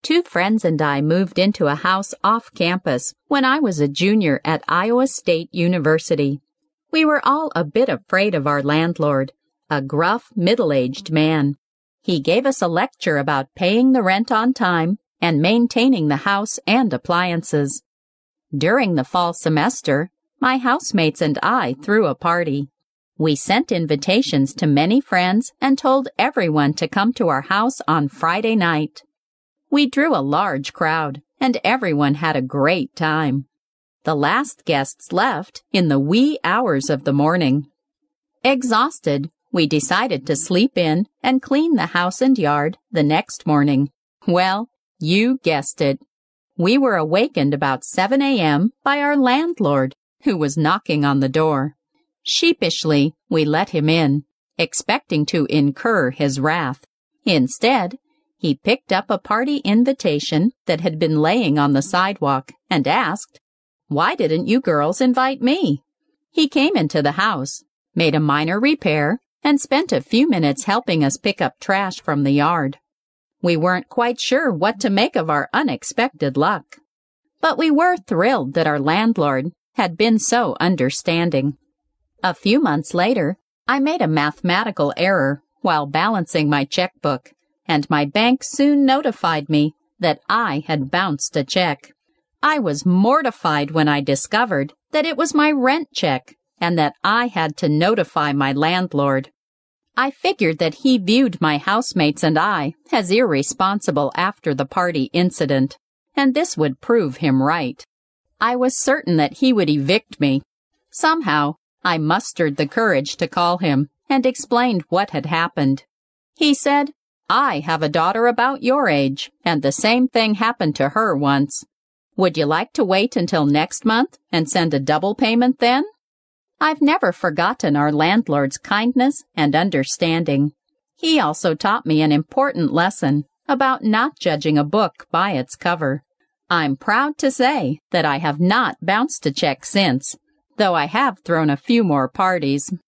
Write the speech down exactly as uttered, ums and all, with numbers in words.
Two friends and I moved into a house off campus when I was a junior at Iowa State University. We were all a bit afraid of our landlord, a gruff, middle-aged man. He gave us a lecture about paying the rent on time and maintaining the house and appliances. During the fall semester, my housemates and I threw a party. We sent invitations to many friends and told everyone to come to our house on Friday night. We drew a large crowd, and everyone had a great time. The last guests left in the wee hours of the morning. Exhausted, we decided to sleep in and clean the house and yard the next morning. Well, you guessed it. We were awakened about seven a m by our landlord, who was knocking on the door. Sheepishly, we let him in, expecting to incur his wrath. Instead, he picked up a party invitation that had been laying on the sidewalk and asked, "Why didn't you girls invite me?" He came into the house, made a minor repair, and spent a few minutes helping us pick up trash from the yard. We weren't quite sure what to make of our unexpected luck, but we were thrilled that our landlord had been so understanding. A few months later, I made a mathematical error while balancing my checkbook, and my bank soon notified me that I had bounced a check. I was mortified when I discovered that it was my rent check and that I had to notify my landlord. I figured that he viewed my housemates and I as irresponsible after the party incident, and this would prove him right. I was certain that he would evict me. Somehow, I mustered the courage to call him and explained what had happened. He said, "I have a daughter about your age, and the same thing happened to her once. Would you like to wait until next month and send a double payment then?" I've never forgotten our landlord's kindness and understanding. He also taught me an important lesson about not judging a book by its cover. I'm proud to say that I have not bounced a check since, though I have thrown a few more parties.